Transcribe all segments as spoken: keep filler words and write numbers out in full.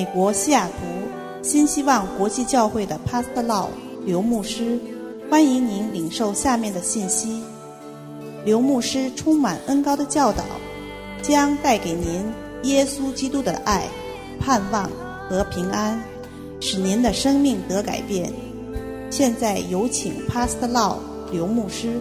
国西雅图新希望国际教会的 Pastor Lau 刘牧师，欢迎您领受下面的信息。刘牧师充满恩膏的教导，将带给您耶稣基督的爱、盼望和平安，使您的生命得改变。现在有请 Pastor Lau 刘牧师。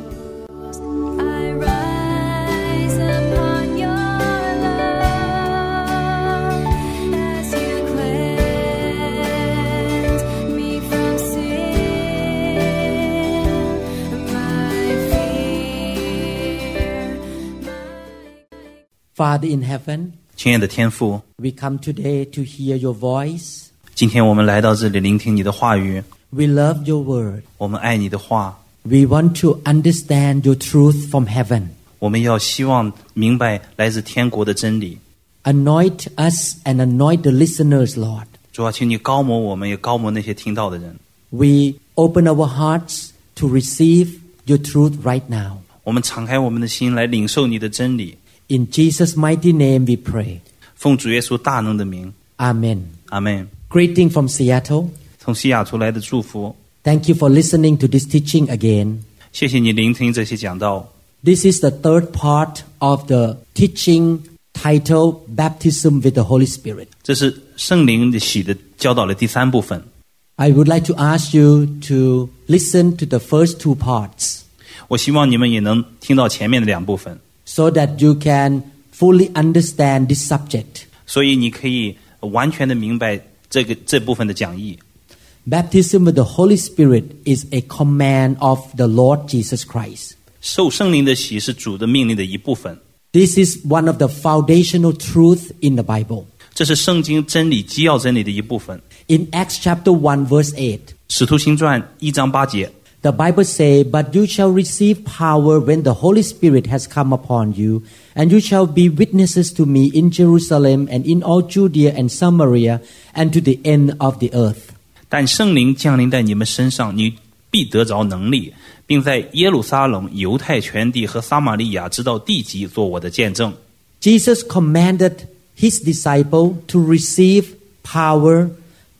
Father in heaven, 亲爱的天父， we come today to hear your voice. 今天我们来到这里聆听你的话语， We love your word. 我们爱你的话， We want to understand your truth from heaven. 我们要希望明白来自天国的真理。 Anoint us and anoint the listeners, Lord. 主啊，请你高摩我们，也高摩那些听到的人。 We open our hearts to receive your truth right now. 我们敞开我们的心来领受你的真理。 In Jesus' mighty name we pray. 奉主耶稣大能的名， Amen. 阿们。 Greeting from Seattle. 从西雅图来的祝福， Thank you for listening to this teaching again. 谢谢你聆听这些讲道。 This is the third part of the teaching titled Baptism with the Holy Spirit. 这是圣灵的洗的教导的第三部分。 I would like to ask you to listen to the first two parts 我希望你们也能听到前面的两部分， so that you can fully understand this subject. 所以你可以完全的明白这个这部分的讲义。 Baptism with the Holy Spirit is a command of the Lord Jesus Christ. 受圣灵的洗是主的命令的一部分， This is one of the foundational truths in the Bible. 这是圣经真理基要真理的一部分。 In Acts chapter one verse eight, 使徒行传一章八节， the Bible says, But you shall receive power when the Holy Spirit has come upon you, and you shall be witnesses to me in Jerusalem and in all Judea and Samaria and to the end of the earth. 但圣灵降临在你们身上，你必得着能力，并在耶路撒冷、犹太全地和撒玛利亚直到地极做我的见证。 Jesus commanded his disciple to receive power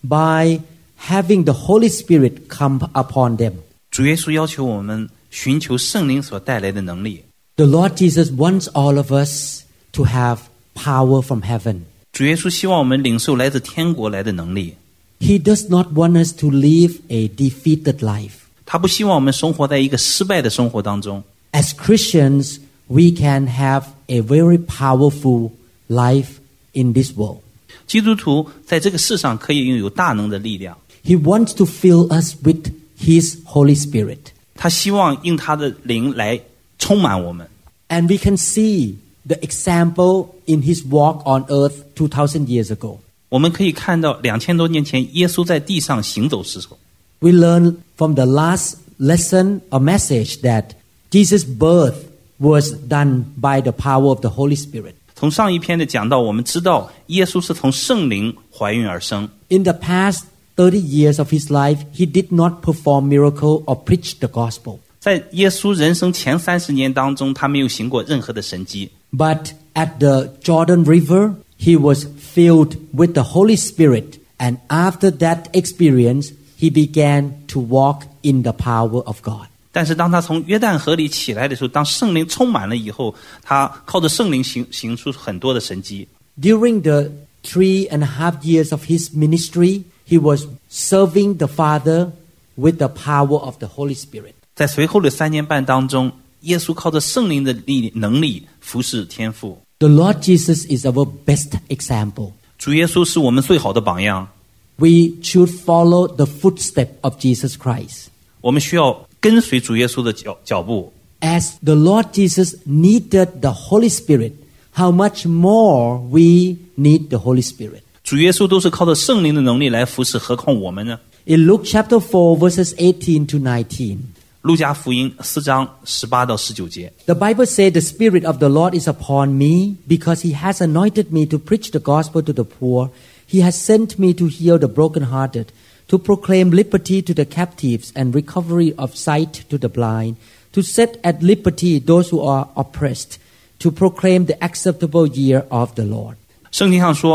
by having the Holy Spirit come upon them. 主耶稣要求我们寻求圣灵所带来的能力。 The Lord Jesus wants all of us to have power from heaven. 主耶稣希望我们领受来自天国来的能力。 He does not want us to live a defeated life. 他不希望我们生活在一个失败的生活当中。 As Christians, we can have a very powerful life in this world. 基督徒在这个世上可以拥有大能的力量。 He wants to fill us with His Holy Spirit. 他希望用他的灵来充满我们。 And we can see the example in His walk on earth two thousand years ago. 我们可以看到两千多年前耶稣在地上行走时候， We learn from the last lesson a message that Jesus' birth was done by the power of the Holy Spirit. 从上一篇的讲到，我们知道耶稣是从圣灵怀孕而生。 In the past thirty years of his life, he did not perform miracle or preach the gospel. 在耶稣人生前三十年当中，他没有行过任何的神迹。 But at the Jordan River, he was filled with the Holy Spirit. And after that experience, he began to walk in the power of God. 但是当他从约旦河里起来的时候，当圣灵充满了以后，他靠着圣灵行行出很多的神迹。 During the three and a half years of his ministry, he was serving the Father with the power of the Holy Spirit. 在随后的三年半当中，耶稣靠着圣灵的力能力服侍天父。 The Lord Jesus is our best example. 主耶稣是我们最好的榜样， We should follow the footsteps of Jesus Christ. 我们需要跟随主耶稣的脚脚步。 As the Lord Jesus needed the Holy Spirit, how much more we need the Holy Spirit. 主耶稣都是靠着圣灵的能力来服侍，何况我们呢？ In Luke chapter four, verses eighteen to nineteen, 路加福音四章十八到十九节， the Bible says, The Spirit of the Lord is upon me, because He has anointed me to preach the gospel to the poor. He has sent me to heal the brokenhearted, to proclaim liberty to the captives and recovery of sight to the blind, to set at liberty those who are oppressed, to proclaim the acceptable year of the Lord. 圣经上说，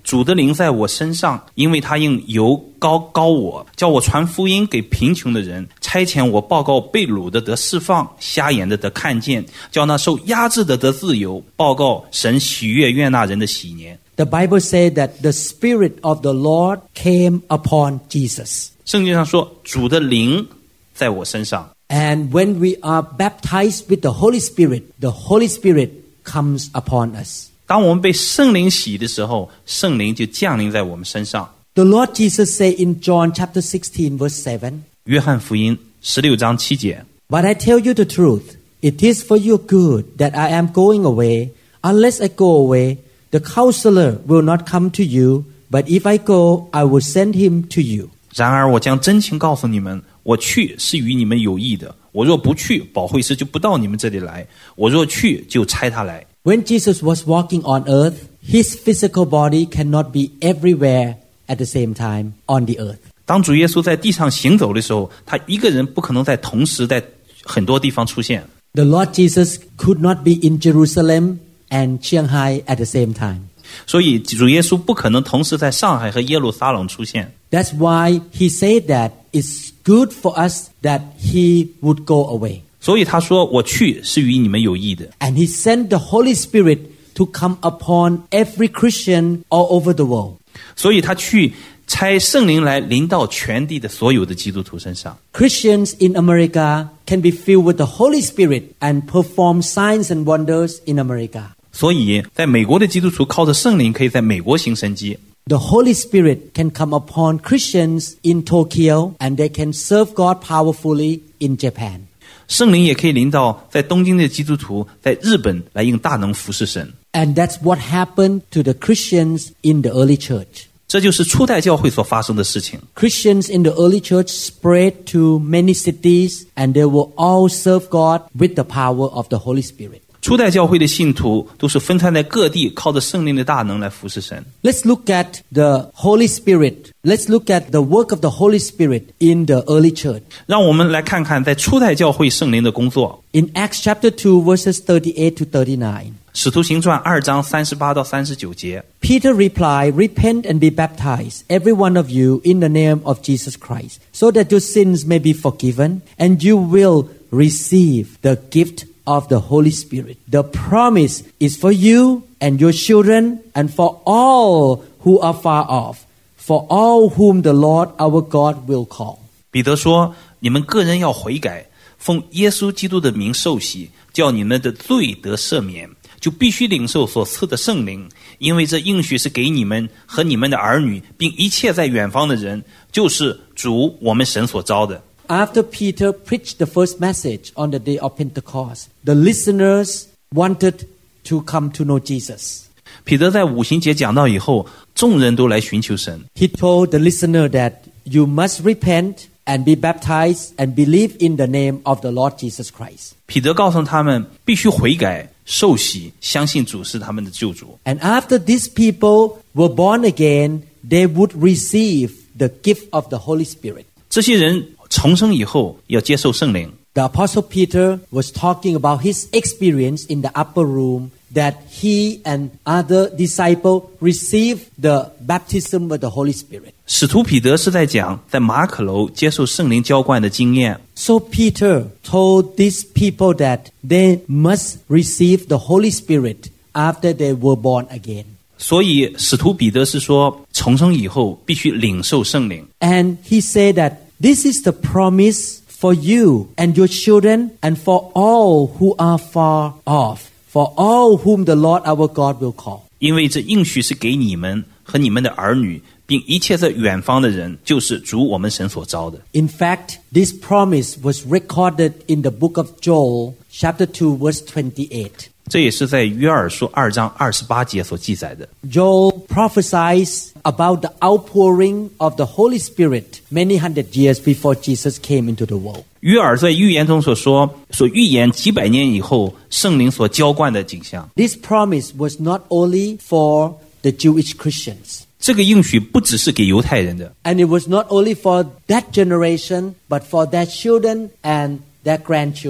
主的灵在我身上，因为他用油膏膏我，叫我传福音给贫穷的人，差遣我报告被掳的得释放，瞎眼的得看见，叫那受压制的得自由，报告神喜悦悦纳人的喜年。 The Bible says that the Spirit of the Lord came upon Jesus. 圣经上说，主的灵在我身上。 And when we are baptized with the Holy Spirit, the Holy Spirit comes upon us. 当我们被圣灵洗的时候，圣灵就降临在我们身上。 The Lord Jesus said in John chapter sixteen verse seven, 约翰福音十六章七节， But I tell you the truth, it is for your good that I am going away. Unless I go away, the counselor will not come to you, but if I go, I will send him to you. 然而我将真情告诉你们，我去是与你们有益的。我若不去，保惠师就不到你们这里来；我若去，就差他来。 When Jesus was walking on earth, his physical body cannot be everywhere at the same time on the earth. 当主耶稣在地上行走的时候，他一个人不可能在同时在很多地方出现。 The Lord Jesus could not be in Jerusalem and Shanghai at the same time. 所以主耶稣不可能同时在上海和耶路撒冷出现。 That's why he said that it's good for us that he would go away. 所以他说，我去是与你们有益的。 And he sent the Holy Spirit to come upon every Christian all over the world. 所以他去差圣灵来临到全地的所有的基督徒身上。 Christians in America can be filled with the Holy Spirit and perform signs and wonders in America. 所以在美国的基督徒靠着圣灵可以在美国行神迹。 The Holy Spirit can come upon Christians in Tokyo and they can serve God powerfully in Japan. 圣灵也可以临到在东京的基督徒在日本来用大能服侍神。 And that's what happened to the Christians in the early church. 这就是初代教会所发生的事情。 Christians in the early church spread to many cities and they will all serve God with the power of the Holy Spirit. 初代教会的信徒都是分散在各地，靠着圣灵的大能来服侍神。 Let's look at the Holy Spirit. Let's look at the work of the Holy Spirit in the early church. 让我们来看看在初代教会圣灵的工作。 In Acts chapter two verses thirty-eight to thirty-nine. 使徒行传二章三十八到三十九节。 Peter replied, Repent and be baptized, every one of you, in the name of Jesus Christ, so that your sins may be forgiven, and you will receive the gift of the Holy Spirit. The promise is for you and your children and for all who are far off, for all whom the Lord our God will call. 彼得说，你们个人要悔改，奉耶稣基督的名受洗，叫你们的罪得赦免，就必须领受所赐的圣灵，因为这应许是给你们和你们的儿女，并一切在远方的人，就是主我们神所召的。 After Peter preached the first message on the day of Pentecost, the listeners wanted to come to know Jesus. 彼得在五旬节讲道以后，众人都来寻求神。 He told the listener that you must repent and be baptized and believe in the name of the Lord Jesus Christ. 彼得告诉他们，必须悔改、受洗，相信主是他们的救主。 And after these people were born again, they would receive the gift of the Holy Spirit. 这些人重生以后，要接受圣灵。 The Apostle Peter was talking about his experience in the upper room that he and other disciples received the baptism of the Holy Spirit. 使徒彼得是在讲在马可楼接受圣灵浇灌的经验。 So Peter told these people that they must receive the Holy Spirit after they were born again. 所以使徒彼得是说，重生以后必须领受圣灵。 And he said that this is the promise for you and your children and for all who are far off, for all whom the Lord our God will call. 因为这应许是给你们和你们的儿女，并一切在远方的人，就是主我们神所召的。 In fact, this promise was recorded in the book of Joel, chapter two, verse twenty-eight. 这也是在约珥书二章二十八节所记载的。 Joel prophesies about the outpouring of the Holy Spirit many hundred years before Jesus came into the world. 约珥在预言中所说，所预言几百年以后圣灵所浇灌的景象。 This promise was not only for the Jewish Christians. 这个应许不只是给犹太人的， And it was not only for that generation, but for their children and their grandchildren.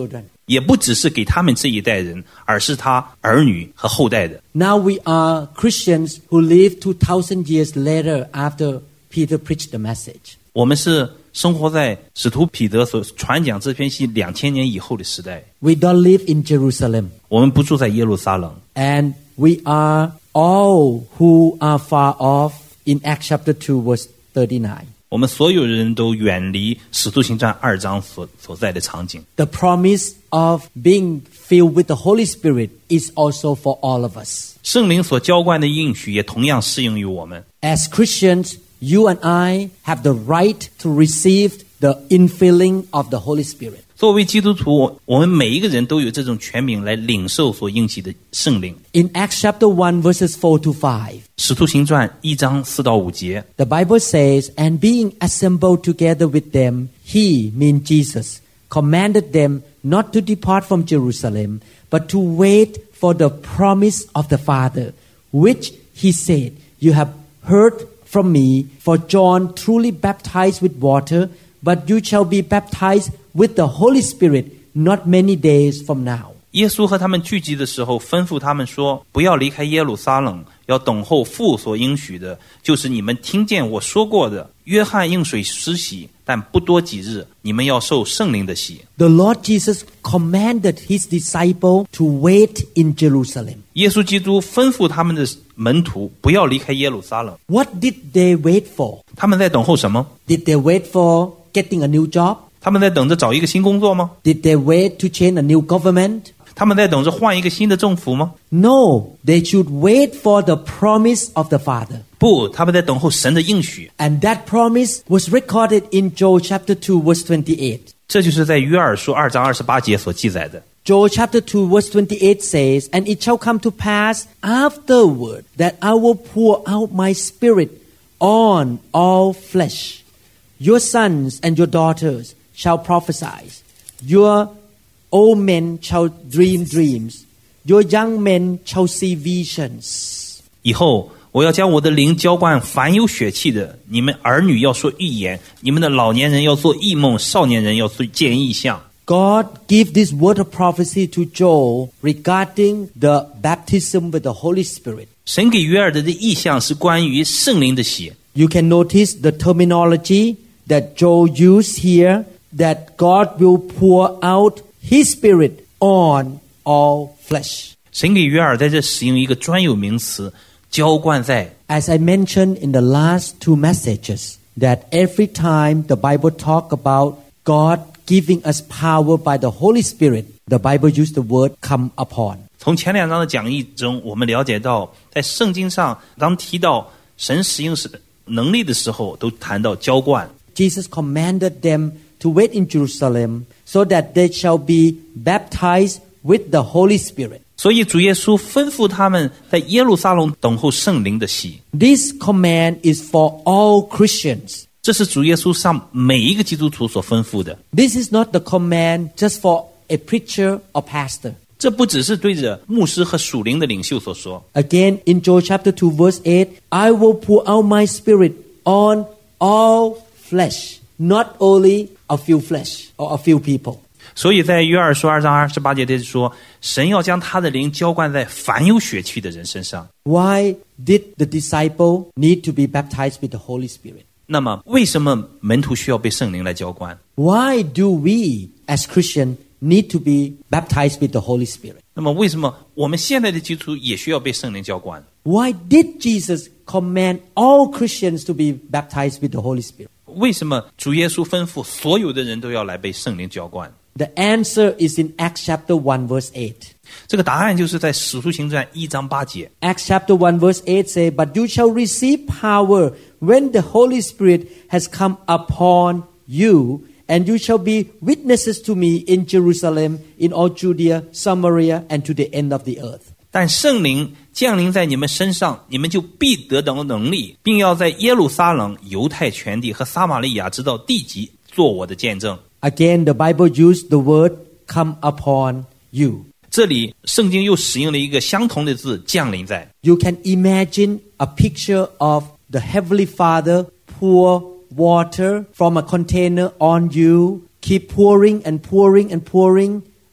也不只是给他们这一代人，而是他儿女和后代的。 Now we are Christians who live two thousand years later after Peter preached the message. 我们是生活在使徒彼得所传讲这篇信两千年以后的时代。 We don't live in Jerusalem. 我们不住在耶路撒冷。 And we are all who are far off in Acts chapter two verse thirty-nine. 我们所有人都远离使徒行传二章所所在的场景。 The promise of being filled with the Holy Spirit is also for all of us. 圣灵所浇灌的应许也同样适用于我们。 As Christians, you and I have the right to receive the infilling of the Holy Spirit. 作为基督徒，我们每一个人都有这种权柄来领受所应许的圣灵。 In Acts chapter one verses four to five, 使徒行传一章四到五节 the Bible says, And being assembled together with them, he, mean Jesus, commanded them not to depart from Jerusalem, but to wait for the promise of the Father, which he said, You have heard from me, for John truly baptized with water, but you shall be baptized with the Holy Spirit not many days from now. 耶稣和他们聚集的时候，吩咐他们说：“不要离开耶路撒冷，要等候父所应许的，就是你们听见我说过的。约翰用水施洗，但不多几日，你们要受圣灵的洗。” The Lord Jesus commanded his disciple to wait in Jerusalem. 耶稣基督吩咐他们的门徒不要离开耶路撒冷。 What did they wait for? 他们在等候什么？ Did they wait for getting a new job? 他们在等着找一个新工作吗？ Did they wait to change a new government? 他们在等着换一个新的政府吗？ No, they should wait for the promise of the Father. 不，他们在等候神的应许。 And that promise was recorded in Joel chapter two verse twenty-eight. 这就是在约珥书二章二十八节所记载的。 Joel chapter two verse twenty-eight says, And it shall come to pass afterward that I will pour out my spirit on all flesh. Your sons and your daughters shall prophesy. Your old men shall dream dreams. Your young men shall see visions. 以后我要将我的灵浇灌凡有血气的，你们儿女要说预言，你们的老年人要做异梦，少年人要见异象。 God gave this word of prophecy to Joel regarding the baptism with the Holy Spirit. 神给约珥的这意象是关于圣灵的血。 You can notice the terminology that Joel used here, that God will pour out His Spirit on all flesh. 神给约珥在这使用一个专有名词，浇灌在。 As I mentioned in the last two messages, that every time the Bible talk about God giving us power by the Holy Spirit, the Bible used the word come upon. 从前两章的讲义中，我们了解到，在圣经上，当提到神使用能力的时候，都谈到浇灌。 Jesus commanded them to wait in Jerusalem so that they shall be baptized with the Holy Spirit. 所以主耶稣吩咐他们在耶路撒冷等候圣灵的洗。 This command is for all Christians. 这是主耶稣向每一个基督徒所吩咐的。 This is not the command just for a preacher or pastor. 这不只是对着牧师和属灵的领袖所说。 Again, in Joel chapter two verse eight, I will pour out my spirit on all flesh, not only a few flesh or a few people. 所以在约珥书二章二十八节这说，神要将他的灵浇灌在凡有血气的人身上。 Why did the disciple need to be baptized with the Holy Spirit? 那么为什么门徒需要被圣灵来浇灌？ Why do we as Christians need to be baptized with the Holy Spirit? 那么为什么我们现在的基督徒也需要被圣灵浇灌？ Why did Jesus command all Christians to be baptized with the Holy Spirit? 为什么主耶稣吩咐所有的人都要来被圣灵浇灌？ The answer is in Acts chapter one verse eight. 这个答案就是在使徒行传一章八节。 Acts chapter one verse eight say, But you shall receive power when the Holy Spirit has come upon you, and you shall be witnesses to me in Jerusalem, in all Judea, Samaria, and to the end of the earth. 但圣灵降临在你们身上，你们就必得到能力，并要在耶路撒冷、犹太全地和撒玛利亚直到地极做我的见证。 Again, the Bible used the word come upon you. 这里圣经又使用了一个相同的字，降临在。 You can imagine a picture of the Heavenly Father pour water from a container on you, keep pouring and pouring and pouring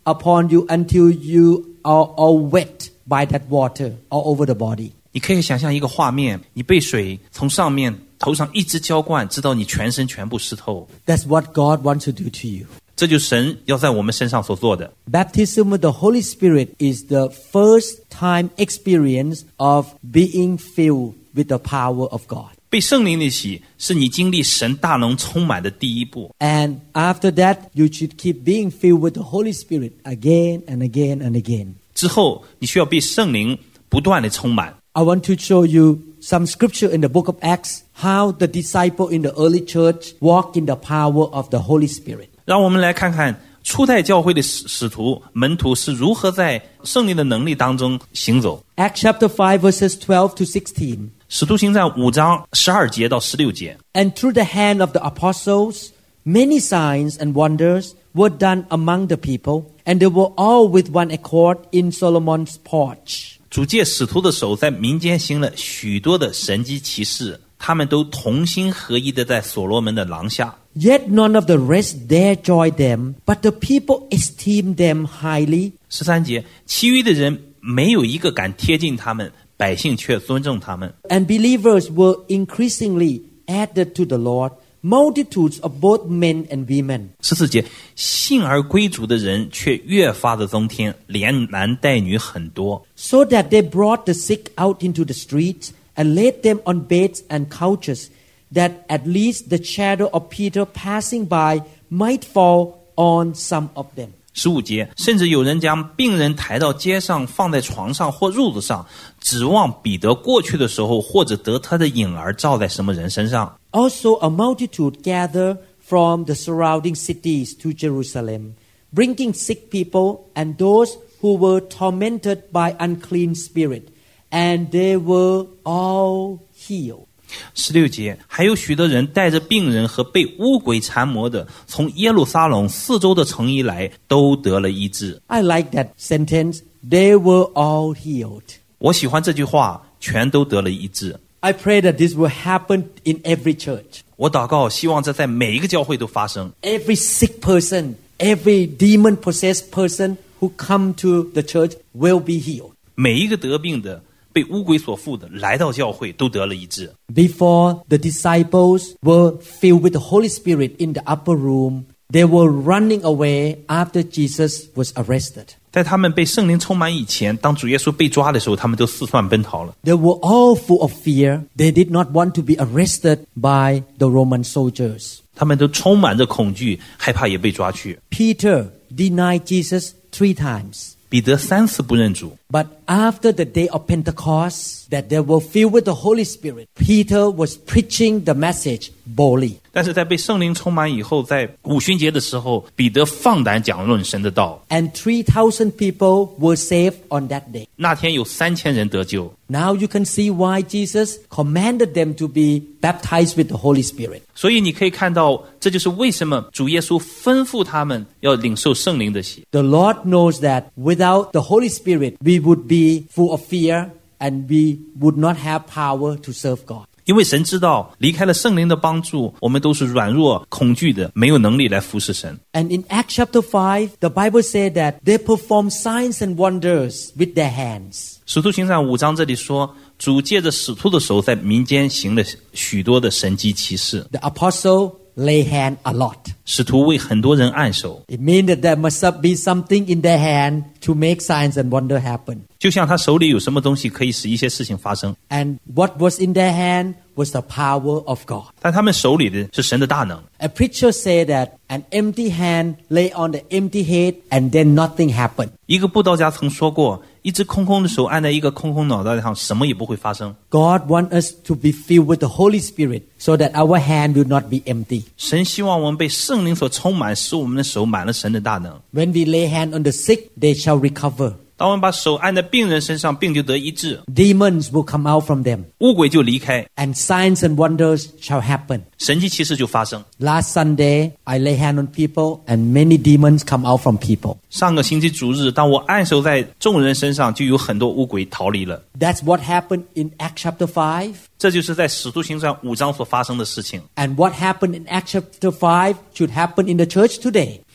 upon you until you are all wet by that water all over the body. 你可以想象一个画面，你被水从上面头上一直浇灌，直到你全身全部湿透。 That's what God wants to do to you. 这就是神要在我们身上所做的。 Baptism with the Holy Spirit is the first time experience of being filled with the power of God. 被圣灵的洗是你经历神大能充满的第一步。 And after that, you should keep being filled with the Holy Spirit again and again and again. 之后你需要被圣灵不断的充满。 I want to show you some scripture in the book of Acts, how the disciple in the early church walk in the power of the Holy Spirit. 让我们来看看初代教会的使使徒门徒是如何在圣灵的能力当中行走。 Acts chapter five verses twelve to sixteen. 使徒行传五章十二节到十六节。 And through the hand of the apostles, many signs and wonders were done among the people, and they were all with one accord in Solomon's porch. 主借使徒的手在民间行了许多的神迹奇事，他们都同心合一的在所罗门的廊下。 Yet none of the rest dare join them, but the people esteemed them highly. 十三节，其余的人没有一个敢贴近他们，百姓却尊重他们。 And believers were increasingly added to the Lord, multitudes of both men and women. 十四节，信而归主的人却越发的增添，连男带女很多。 So that they brought the sick out into the streets and laid them on beds and couches, that at least the shadow of Peter passing by might fall on some of them. 十五节，甚至有人将病人抬到街上，放在床上或褥子上，指望彼得过去的时候，或者得他的影儿照在什么人身上。 Also a multitude gathered from the surrounding cities to Jerusalem, bringing sick people and those who were tormented by unclean spirit, and they were all healed. 十六节，还有许多人带着病人和被污鬼缠磨的，从耶路撒冷四周的城邑来，都得了医治。 I like that sentence. They were all healed. 我喜欢这句话，全都得了医治。 I pray that this will happen in every church. 我祷告，希望这在每一个教会都发生。 Every sick person, every demon-possessed person who come to the church will be healed. 每一个得病的、被污鬼所附的，来到教会都得了医治。 Before the disciples were filled with the Holy Spirit in the upper room, they were running away after Jesus was arrested. 在他们被圣灵充满以前，当主耶稣被抓的时候，他们都四散奔逃了。 They were all full of fear. They did not want to be arrested by the Roman soldiers. 他们都充满着恐惧，害怕也被抓去。 Peter denied Jesus three times. 彼得三次不认主， But after the day of Pentecost, that they were filled with the Holy Spirit, Peter was preaching the message boldly. 但是在被圣灵充满以后，在五旬节的时候，彼得放胆讲论神的道。 And three thousand people were saved on that day. 那天有三千人得救。 Now you can see why Jesus commanded them to be baptized with the Holy Spirit. 所以你可以看到，这就是为什么主耶稣吩咐他们要领受圣灵的洗。 The Lord knows that without the Holy Spirit, we would be full of fear and we would not have power to serve God. 因为神知道，离开了圣灵的帮助，我们都是软弱、恐惧的，没有能力来服侍神。 And in Acts chapter five, the Bible said that they performed signs and wonders with their hands. 使徒行传五章这里说，主借着使徒的手在民间行了许多的神迹奇事。 The apostle lay hand a lot. 使徒为很多人按手， It means that there must be something in their hand to make signs and wonder happen. 就像他手里有什么东西可以使一些事情发生， And what was in their hand was the power of God. 但他们手里的是神的大能。 A preacher said that an empty hand lay on the empty head and then nothing happened. 一个布道家曾说过，一只空空的手按在一个空空脑袋上，什么也不会发生。 God wants us to be filled with the Holy Spirit so that our hand will not be empty. 神希望我们被圣灵所充满，使我们的手满了神的大能。 When we lay hand on the sick, they shall recover. 当我们把手按在病人身上，病就得医治， Demons will come out from them. 污鬼就离开， And signs and wonders shall happen. 神迹奇事就发生。 Last Sunday, I lay hand on people and many demons come out from people. 上个星期主日，当我按手在众人身上，就有很多污鬼逃离了。 That's what happened in Acts chapter five. 这就是在使徒行传五章所发生的事情。 And what happened in Acts chapter five should happen in the church today.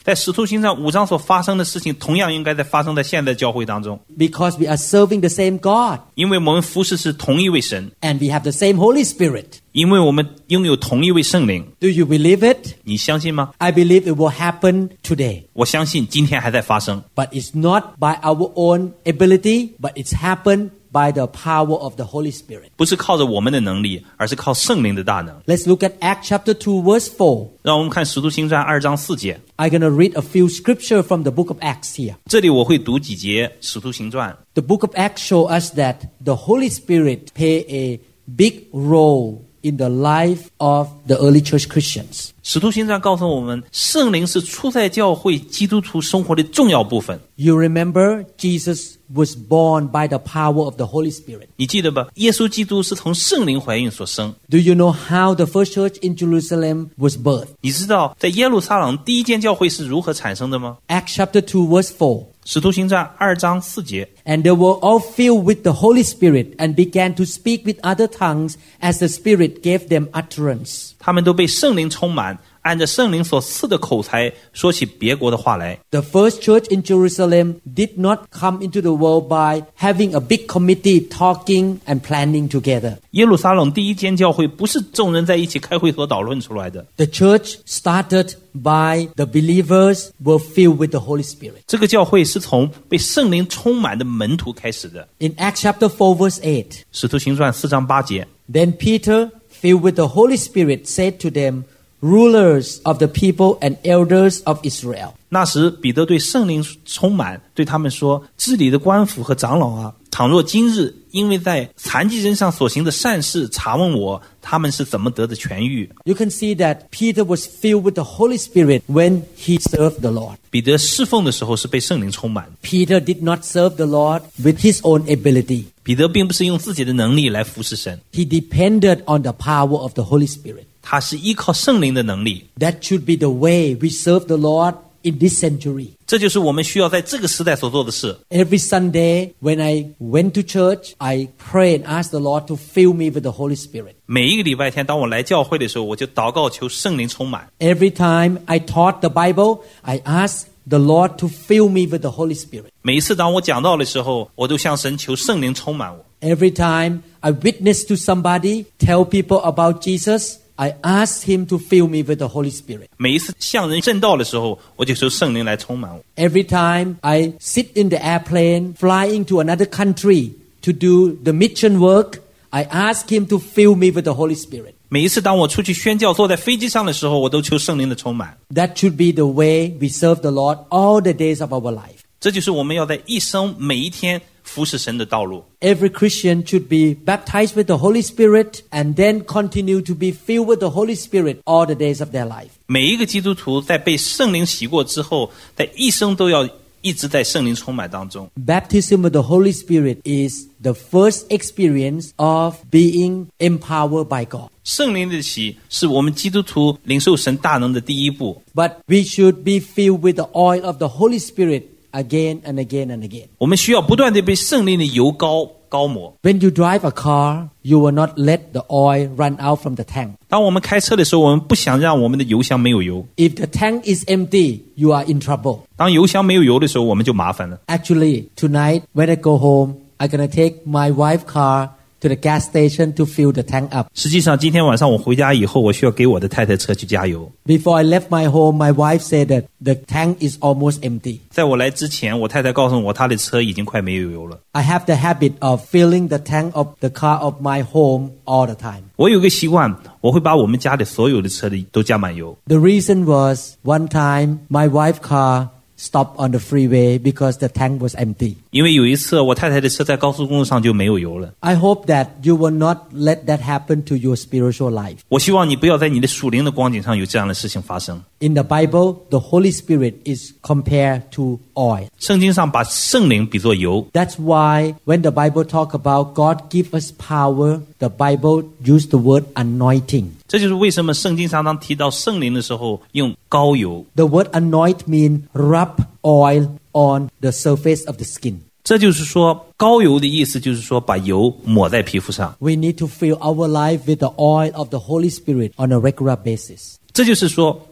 在使徒行传五章所发生的事情，同样应该在发生在现在教会当中， because we are serving the same God 因为我们服侍是同一位神， and we have the same Holy Spirit. 因为我们拥有同一位圣灵。 Do you believe it? 你相信吗？ I believe it will happen today. 我相信今天还在发生， But it's not by our own ability, but it's happened by the power of the Holy Spirit. 不是靠着我们的能力，而是靠圣灵的大能。 Let's look at Acts chapter two, verse four. 让我们看使徒行传二章四节， I'm going to read a few scripture from the book of Acts here. 这里我会读几节使徒行传。 The book of Acts show us that the Holy Spirit play a big role in the life of the early church Christians. 使徒行传告诉我们，圣灵是初代教会基督徒生活的重要部分。 You remember Jesus was born by the power of the Holy Spirit. 你记得吧？耶稣基督是从圣灵怀孕所生。 Do you know how the first church in Jerusalem was birthed? 你知道在耶路撒冷第一间教会是如何产生的吗？ Acts chapter two, verse four. 使徒行传二章四节， And they were all filled with the Holy Spirit and began to speak with other tongues as the Spirit gave them utterance. 他们都被圣灵充满，按着圣灵所赐的口才说起别国的话来。 The first church in Jerusalem did not come into the world by having a big committee talking and planning together. 耶路撒冷第一间教会不是众人在一起开会所讨论出来的， The church started by the believers were filled with the Holy Spirit. 这个教会是从被圣灵充满的门徒开始的。 In Acts chapter four, verse eight. 使徒行传四章八节， Then Peter, filled with the Holy Spirit, said to them, Rulers of the people and elders of Israel. 那时彼得对圣灵充满，对他们说：治理的官府和长老啊，倘若今日因为在残疾人上所行的善事查问我，他们是怎么得的痊愈？ You can see that Peter was filled with the Holy Spirit when he served the Lord. 彼得侍奉的时候是被圣灵充满， Peter did not serve the Lord with his own ability. 彼得并不是用自己的能力来服侍神， He depended on the power of the Holy Spirit. 他是依靠圣灵的能力。 That should be the way we serve the Lord in this century. 这就是我们需要在这个时代所做的事。 Every Sunday when I went to church, I pray and ask the Lord to fill me with the Holy Spirit. 每一个礼拜天，当我来教会的时候，我就祷告求圣灵充满。 Every time I taught the Bible, I asked the Lord to fill me with the Holy Spirit. 每一次当我讲道的时候，我都向神求圣灵充满我。 Every time I witness to somebody, tell people about Jesus, I ask him to fill me with the Holy Spirit. 每一次向人证道的时候，我就求圣灵来充满我。 Every time I sit in the airplane flying to another country to do the mission work, I ask him to fill me with the Holy Spirit. 每一次当我出去宣教，坐在飞机上的时候，我都求圣灵的充满。 That should be the way we serve the Lord all the days of our life. 这就是我们要在一生每一天服侍神的道路。 Every Christian should be baptized with the Holy Spirit and then continue to be filled with the Holy Spirit all the days of their life. 每一个基督徒在被圣灵洗过之后，在一生都要一直在圣灵充满当中。 Baptism with the Holy Spirit is the first experience of being empowered by God. 圣灵的洗是我们基督徒领受神大能的第一步。 But we should be filled with the oil of the Holy Spirit again and again and again. 我们需要不断地被圣灵的油膏膏抹。 When you drive a car, you will not let the oil run out from the tank. 当我们开车的时候，我们不想让我们的油箱没有油。 If the tank is empty, you are in trouble. 当油箱没有油的时候，我们就麻烦了。 Actually, tonight when I go home, I'm going to take my wife's car to the gas station to fill the tank up. 实际上，今天晚上我回家以后，我需要给我的太太车去加油。 Before I left my home, my wife said that the tank is almost empty. 在我来之前，我太太告诉我，她的车已经快没有油了。 I have the habit of filling the tank of the car of my home all the time. 我有个习惯，我会把我们家里所有的车里都加满油。 The reason was one time my wife's car stopped on the freeway because the tank was empty. 因为有一次，我太太的车在高速公路上就没有油了。 I hope that you will not let that happen to your spiritual life. 我希望你不要在你的属灵的光景上有这样的事情发生。 In the Bible, the Holy Spirit is compared to oil. 圣经上把圣灵比作油， That's why when the Bible talk about God give us power, the Bible use the word anointing. 这就是为什么圣经常常提到圣灵的时候用膏油。 The word anoint means rub oil on the surface of the skin. 这就是说，膏油的意思就是说把油抹在皮肤上。 We need to fill our life with the oil of the Holy Spirit on a regular basis. 这就是说，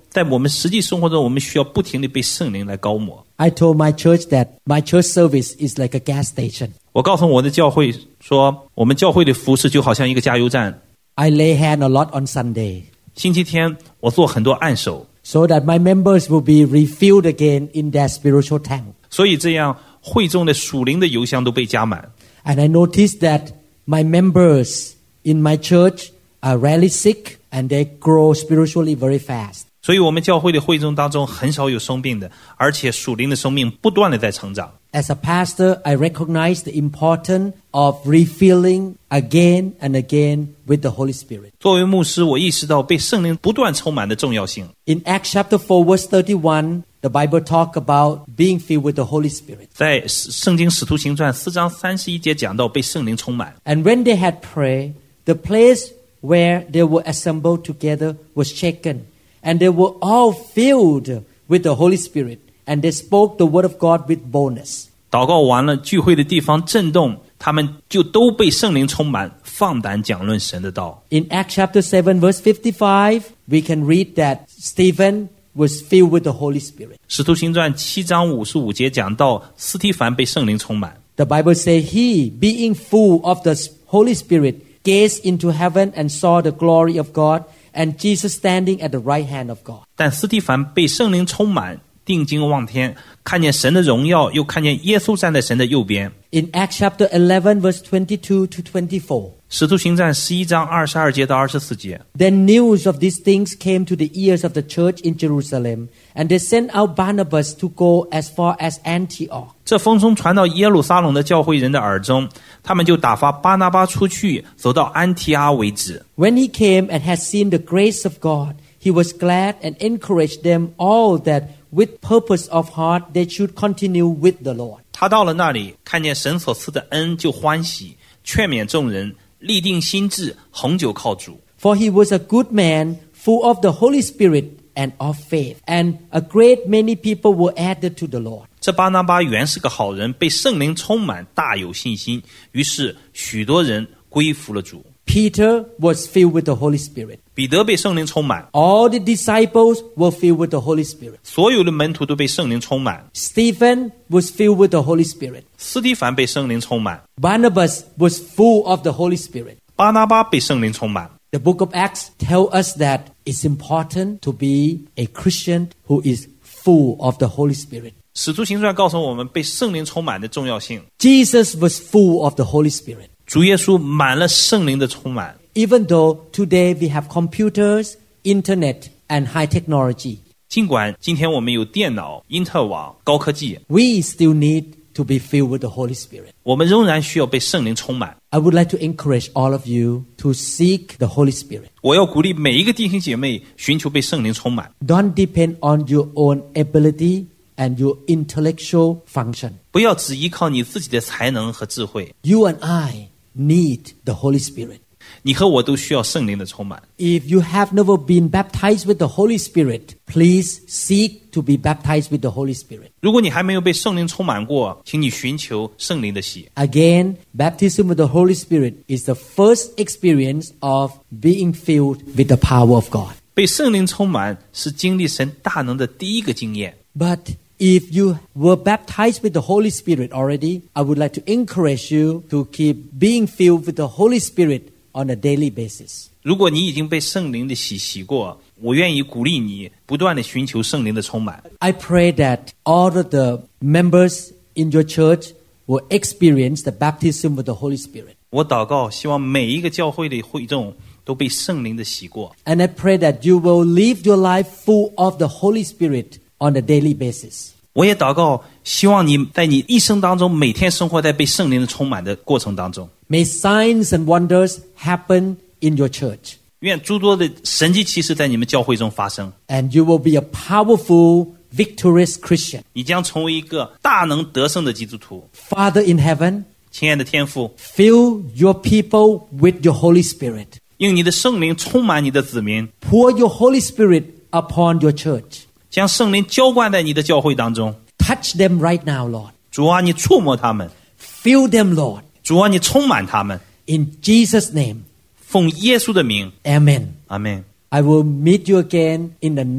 在我们实际生活中，我们需要不停地被圣灵来膏抹。 I told my church that my church service is like a gas station. 我告诉我的教会说，我们教会的服事就好像一个加油站。 I lay hand a lot on Sunday, 星期天我做很多按手， so that my members will be refilled again in their spiritual tank. 所以这样会众的属灵的油箱都被加满。 And I noticed that my members in my church are rarely sick and they grow spiritually very fast. 所以我们教会的会众当中很少有生病的，而且属灵的生命不断的在成长。 As a pastor, I recognize the importance of refilling again and again with the Holy Spirit. 作为牧师，我意识到被圣灵不断充满的重要性。 In Acts chapter four, verse thirty-one, the Bible talk about being filled with the Holy Spirit. 在圣经使徒行传四章三十一节讲到被圣灵充满。 And when they had prayed, the place where they were assembled together was shaken, and they were all filled with the Holy Spirit, and they spoke the word of God with boldness. 祷告完了，聚会的地方震动，他们就都被圣灵充满，放胆讲论神的道。 In Acts chapter seven, verse fifty-five, we can read that Stephen was filled with the Holy Spirit. 使徒行传七章五十五节讲到司提反被圣灵充满。 The Bible says, he, being full of the Holy Spirit, gazed into heaven and saw the glory of God, and Jesus standing at the right hand of God. 但司提反被圣灵充满，定睛望天，看见神的荣耀，又看见耶稣站在神的右边。 In Acts chapter eleven, verse twenty-two to twenty-four, 使徒行传十一章二十二节到二十四节。 then news of these things came to the ears of the church in Jerusalem, and they sent out Barnabas to go as far as Antioch. 这风声传到耶路撒冷的教会人的耳中，他们就打发巴拿巴出去，走到安提阿为止。 When he came and had seen the grace of God, he was glad and encouraged them all that with purpose of heart they should continue with the Lord. 他到了那里，看见神所赐的恩，就欢喜，劝勉众人，立定心志，恒久靠主。 For he was a good man, full of the Holy Spirit and of faith, and a great many people were added to the Lord. 这巴拿巴原是个好人，被圣灵充满，大有信心，于是许多人归服了主。 Peter was filled with the Holy Spirit. 彼得被圣灵充满， All the disciples were filled with the Holy Spirit. 所有的门徒都被圣灵充满。 Stephen was filled with the Holy Spirit. 司提反被圣灵充满， Barnabas was full of the Holy Spirit. 巴拿巴被圣灵充满。 The book of Acts tells us that it's important to be a Christian who is full of the Holy Spirit. 使徒行传告诉我们被圣灵充满的重要性。 Jesus was full of the Holy Spirit. 主耶稣满了圣灵的充满。 Even though today we have computers, internet, and high technology, 尽管今天我们有电脑、因特网、高科技， we still need to be filled with the Holy Spirit. 我们仍然需要被圣灵充满。 I would like to encourage all of you to seek the Holy Spirit. 我要鼓励每一个弟兄姐妹寻求被圣灵充满， Don't depend on your own ability and your intellectual function. 不要只依靠你自己的才能和智慧。 You and I need the Holy Spirit. 你和我都需要圣灵的充满。 If you have never been baptized with the Holy Spirit, please seek to be baptized with the Holy Spirit. 如果你还没有被圣灵充满过，请你寻求圣灵的洗。 Again, baptism with the Holy Spirit is the first experience of being filled with the power of God. 被圣灵充满是经历神大能的第一个经验。 But if you were baptized with the Holy Spirit already, I would like to encourage you to keep being filled with the Holy Spirit on a daily basis. 如果你已经被圣灵的洗洗过，我愿意鼓励你不断的寻求圣灵的充满。 I pray that all of the members in your church will experience the baptism with the Holy Spirit. 我祷告，希望每一个教会的会众都被圣灵的洗过。 And I pray that you will live your life full of the Holy Spirit on a daily basis. 我也祷告，希望你在你一生当中每天生活在被圣灵的充满的过程当中。 May signs and wonders happen in your church. 愿诸多的神迹奇事在你们教会中发生， And you will be a powerful, victorious Christian. 你将成为一个大能得胜的基督徒。 Father in heaven, 亲爱的天父， fill your people with your Holy Spirit. 用你的圣灵充满你的子民， Pour your Holy Spirit upon your church. 将圣灵浇灌在你的教会当中。 Touch them right now, Lord. 主啊，你触摸他们； Fill them, Lord. 主啊，你充满他们。 In Jesus' name, 奉耶稣的名， amen. 阿们。 I will meet you again in the next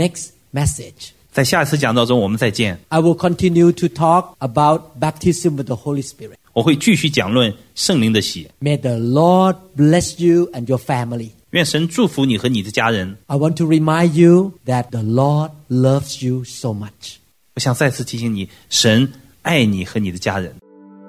message. 在下一次讲道中我们再见。 I will continue to talk about baptism with the Holy Spirit. 我会继续讲论圣灵的洗。 May the Lord bless you and your family. 愿神祝福你和你的家人。 I want to remind you that the Lord loves you so much. 我想再次提醒你，神爱你和你的家人。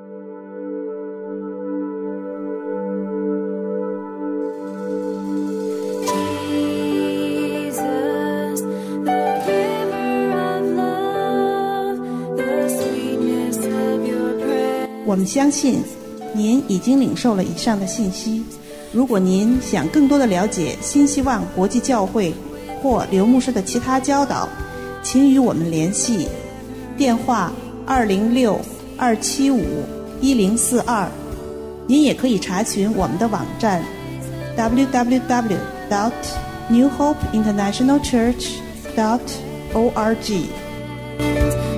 我们相信您已经领受了以上的信息。如果您想更多的了解新希望国际教会或刘牧师的其他教导，请与我们联系，电话二零六二七五一零四二。您也可以查询我们的网站 double-u double-u double-u dot new hope international church dot org。